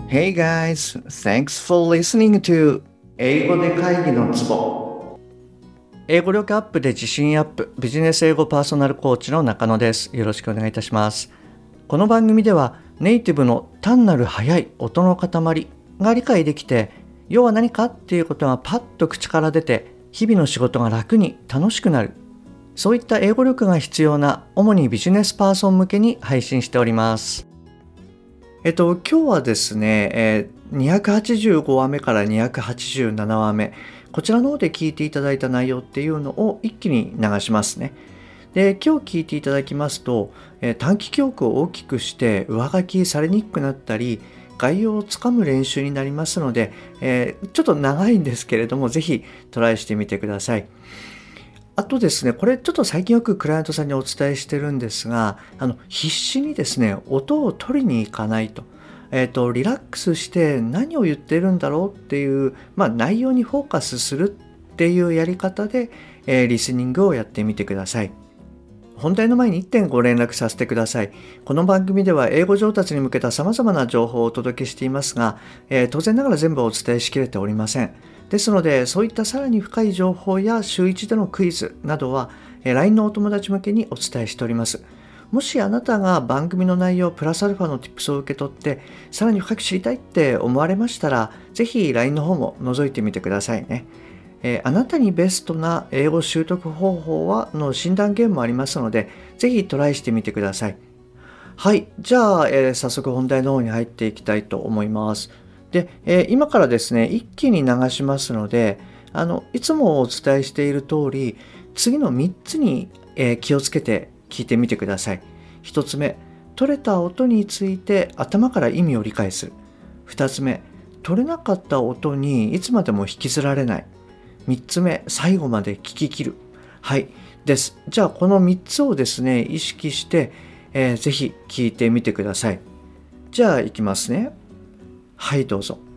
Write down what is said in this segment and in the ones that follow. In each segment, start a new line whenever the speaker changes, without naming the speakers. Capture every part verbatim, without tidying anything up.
Hey guys, thanks for listening to 英語で会議のツボ。英語力アップで自信アップ、ビジネス英語パーソナルコーチの中野です。よろしくお願いいたします。この番組ではネイティブの単なる速い音の塊が理解できて、要は何かっていうことがパッと口から出て、日々の仕事が楽に楽しくなる。そういった英語力が必要な主にビジネスパーソン向けに配信しております。えっと、今日はですね、えーにひゃくはちじゅうごわめからにひゃくはちじゅうななわめ、こちらの方で聞いていただいた内容っていうのを一気に流しますね。で、今日聞いていただきますと、えー短期記憶を大きくして上書きされにくくなったり、概要をつかむ練習になりますので、えーちょっと長いんですけれども、ぜひトライしてみてください。あとですね、これちょっと最近よくクライアントさんにお伝えしてるんですが、あの必死にですね、音を取りに行かないと。えっと、リラックスして何を言ってるんだろうっていう、まあ、内容にフォーカスするっていうやり方で、えーリスニングをやってみてください。本題の前にいってんご連絡させてください。この番組では英語上達に向けた様々な情報をお届けしていますが、えー当然ながら全部お伝えしきれておりません。ですので、そういったさらに深い情報や週いちでのクイズなどは、えー ライン のお友達向けにお伝えしております。もしあなたが番組の内容プラスアルファの Tips を受け取って、さらに深く知りたいって思われましたら、ぜひ ライン の方も覗いてみてくださいね。えーあなたにベストな英語習得方法はの診断ゲームもありますので、ぜひトライしてみてください。はい、じゃあ、えー早速本題の方に入っていきたいと思います。で、えー今からですね、一気に流しますので、あのいつもお伝えしている通り、次のみっつに、えー気をつけて聞いてみてください。ひとつめ、取れた音について頭から意味を理解する。ふたつめ、取れなかった音にいつまでも引きずられない。みっつめ、最後まで聞き切る。はい。です。じゃあ、このみっつをですね、意識して、えーぜひ聞いてみてください。じゃあ、いきますね。はい、どうぞ。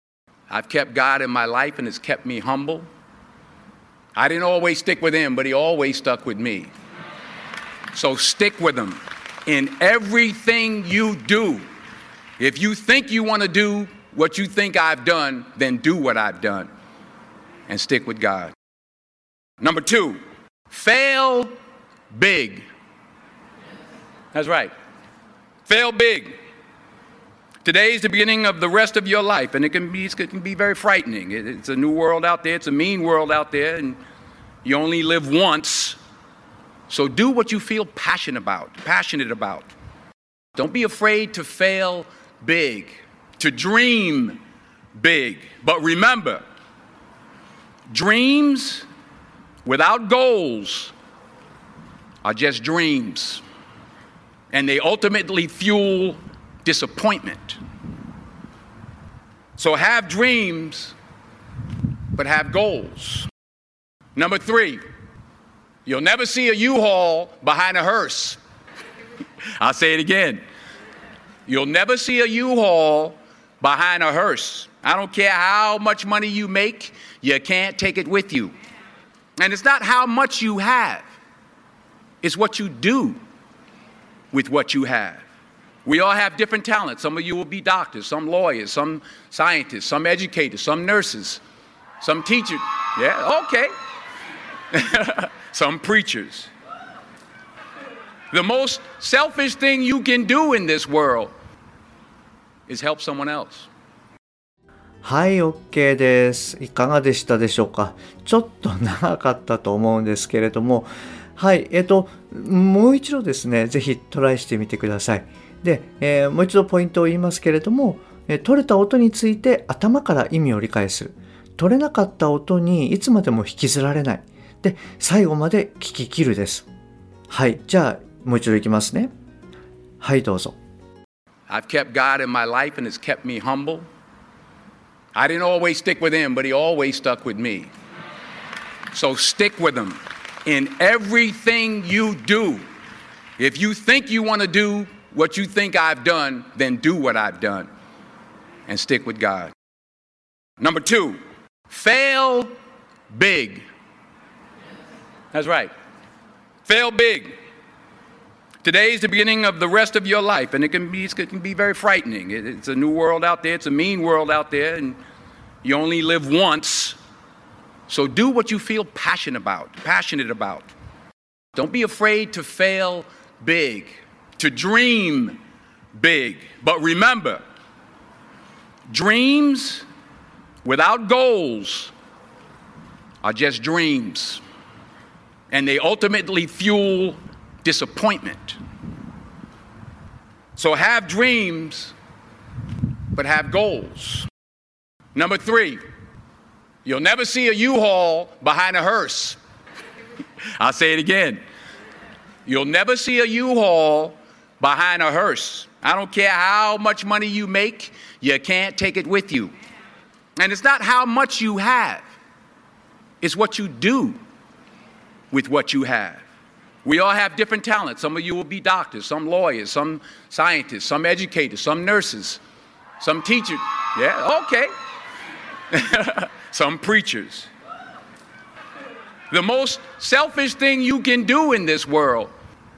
I've kept God in my life and it's kept me humble. I didn't always stick with him, but he always stuck with me. So stick with him in everything you do. If you think you want to do what you think I've done, then do what I've done and stick with God. Number two, fail big. That's right. Fail big. Today is the beginning of the rest of your life, and it can be, it can be very frightening. It- It's a new world out there. It's a mean world out there, and you only live once. So do what you feel passionate about, passionate about. Don't be afraid to fail big, to dream big. But remember, dreams without goals are just dreams, and they ultimately fuel disappointment. So have dreams, but have goals. Number three, you'll never see a U-Haul behind a hearse. I'll say it again. You'll never see a U-Haul behind a hearse. I don't care how much money you make, you can't take it with you. And it's not how much you have, it's what you do with what you have. We all have different talents. Some of you will be doctors, some lawyers, some scientists, some educators, some nurses, some teachers. Yeah, okay. Some preachers. The most selfish thing you can do in this world is help someone else.
はい、OK です。いかがでしたでしょうか。ちょっと長かったと思うんですけれども、はい、えっと、もう一度ですね、ぜひトライしてみてください。で、えーもう一度ポイントを言いますけれども、えー取れた音について頭から意味を理解する。取れなかった音にいつまでも引きずられない。で、最後まで聞き切るです。はい、じゃあ、もう一度いきますね。はい、どうぞ。
I've kept God in my life and it's kept me humble. I didn't always stick with him, but he always stuck with me. So stick with him in everything you do. If you think you want to do what you think I've done, then do what I've done and stick with God. Number two, fail big. That's right. Fail big. Today is the beginning of the rest of your life, and it can be, it can be very frightening. It's a new world out there. It's a mean world out there, and you only live once. So do what you feel passionate about, passionate about. Don't be afraid to fail big, to dream big. But remember, dreams without goals are just dreams, and they ultimately fuel disappointment. So have dreams, but have goals. Number three, you'll never see a U-Haul behind a hearse. I'll say it again. You'll never see a U-Haul behind a hearse. I don't care how much money you make, you can't take it with you. And it's not how much you have, it's what you do with what you have. We all have different talents. Some of you will be doctors, some lawyers, some scientists, some educators, some nurses, some teachers. Yeah, okay. Some preachers. The most selfish thing you can do in this world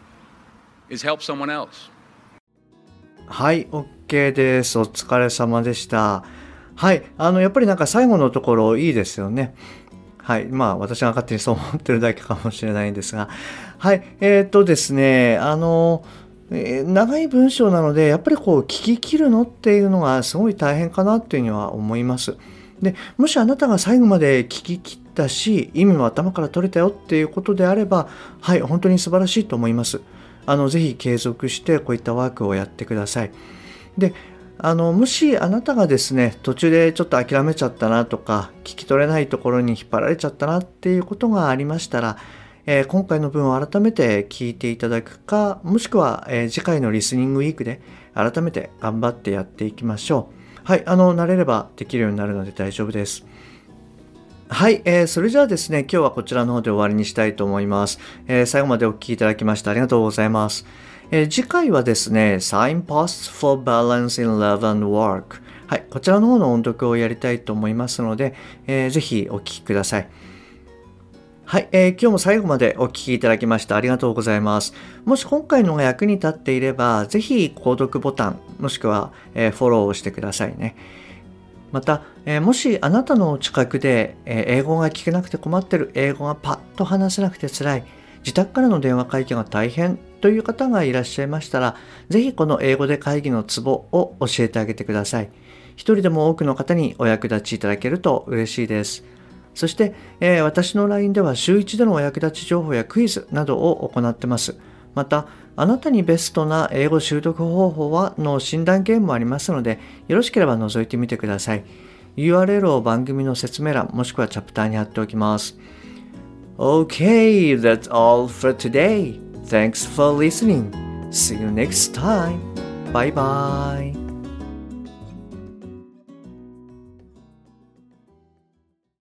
is help someone else.
はい、OK です。お疲れ様でした。はい、あのやっぱりなんか最後のところいいですよね。はい、まあ私が勝手にそう思ってるだけかもしれないんですが、はい、えっとですね、あの、えー、長い文章なのでやっぱりこう聞き切るのっていうのがすごい大変かなっていうには思います。で、もしあなたが最後まで聞き切ったし、意味も頭から取れたよっていうことであれば、はい、本当に素晴らしいと思います。あのぜひ継続してこういったワークをやってください。で、あのもしあなたがですね途中でちょっと諦めちゃったなとか聞き取れないところに引っ張られちゃったなっていうことがありましたら、えー、今回の文を改めて聞いていただくか、もしくは、えー、次回のリスニングウィークで改めて頑張ってやっていきましょう。はい、あの慣れればできるようになるので大丈夫です。はい、えー、それじゃあですね、今日はこちらの方で終わりにしたいと思います。えー、最後までお聞きいただきましてありがとうございます。えー、次回はですね、Signposts for Balance in Love and Work。はい、こちらの方の音読をやりたいと思いますので、えー、ぜひお聞きください。はい、えー、今日も最後までお聞きいただきましてありがとうございます。もし今回のが役に立っていれば、ぜひ購読ボタン、もしくは、えー、フォローをしてくださいね。また、えー、もしあなたの近くで、えー、英語が聞けなくて困ってる、英語がパッと話せなくて辛い、自宅からの電話会議が大変という方がいらっしゃいましたら、ぜひこの英語で会議のツボを教えてあげてください。一人でも多くの方にお役立ちいただけると嬉しいです。そして、えー、私の ライン では週一でのお役立ち情報やクイズなどを行ってます。また、あなたにベストな英語習得方法はの診断ゲームもありますので、よろしければ覗いてみてください。ユーアールエル を番組の説明欄もしくはチャプターに貼っておきます。Okay, that's all for today. Thanks for listening. See you next time. Bye bye.